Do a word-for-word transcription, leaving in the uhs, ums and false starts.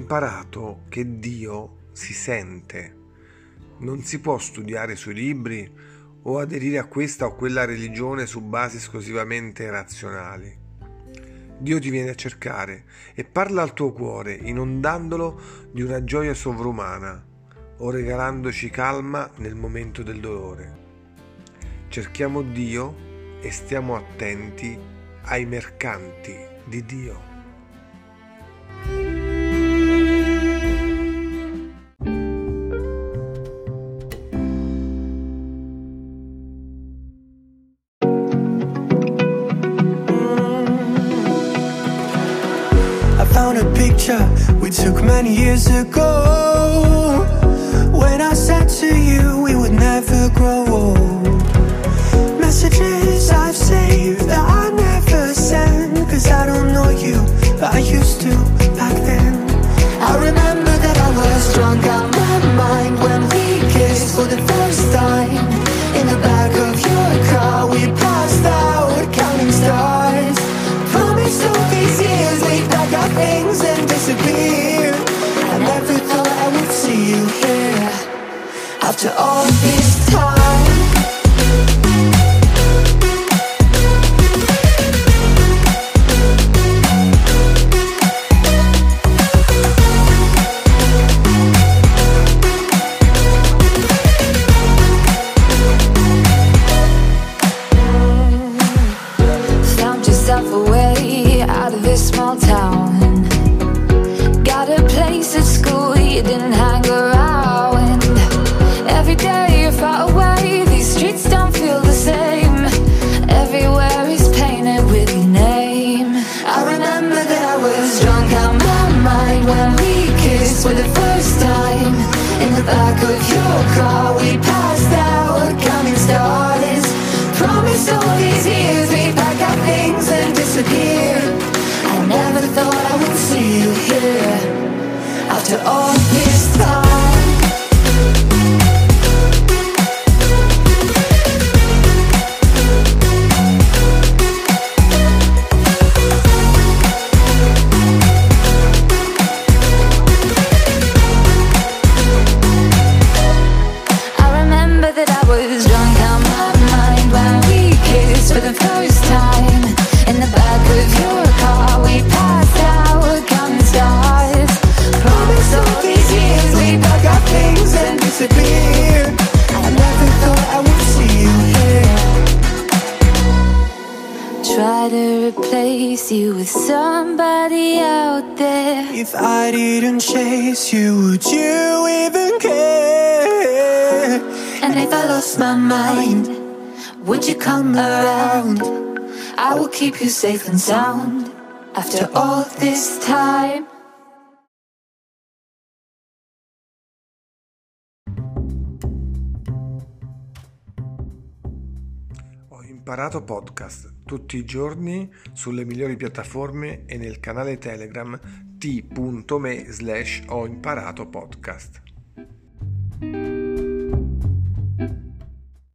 imparato che Dio si sente. Non si può studiare sui libri o aderire a questa o quella religione su basi esclusivamente razionali. Dio ti viene a cercare e parla al tuo cuore, inondandolo di una gioia sovrumana o regalandoci calma nel momento del dolore. Cerchiamo Dio e stiamo attenti ai mercanti di Dio. Found a picture we took many years ago, when I said to you we would never grow old. Messages I've saved that I never send, cause I don't know you, but I used to back then. I remember that I was drunk out my mind when we kissed for the first time. In the back of your car we passed out counting stars. Promised all these years we'd pack our things and disappear. I never thought I would see you here after all this time. Found yourself away out of this small town. Got a place at school you didn't hang around. Every day you're far away, these streets don't feel the same. Everywhere is painted with your name. I remember that I was drunk out my mind when we kissed for the first time. In the back of your car we passed out counting stars. Promised all these years we'd pack our things and disappear. I never thought I would see you here after all this time. I remember that I was drunk out my mind when we kissed for the first time. In the back of your car we passed out counting stars. Promised all these years we'd pack our things and disappear. I never thought I would see you here. Try to replace you with somebody out there. If I didn't chase you, would you even care? And if I lost my mind, would you come around? I will keep you safe and sound after all this time. Ho imparato podcast tutti i giorni sulle migliori piattaforme e nel canale Telegram t punto me slash ho imparato podcast.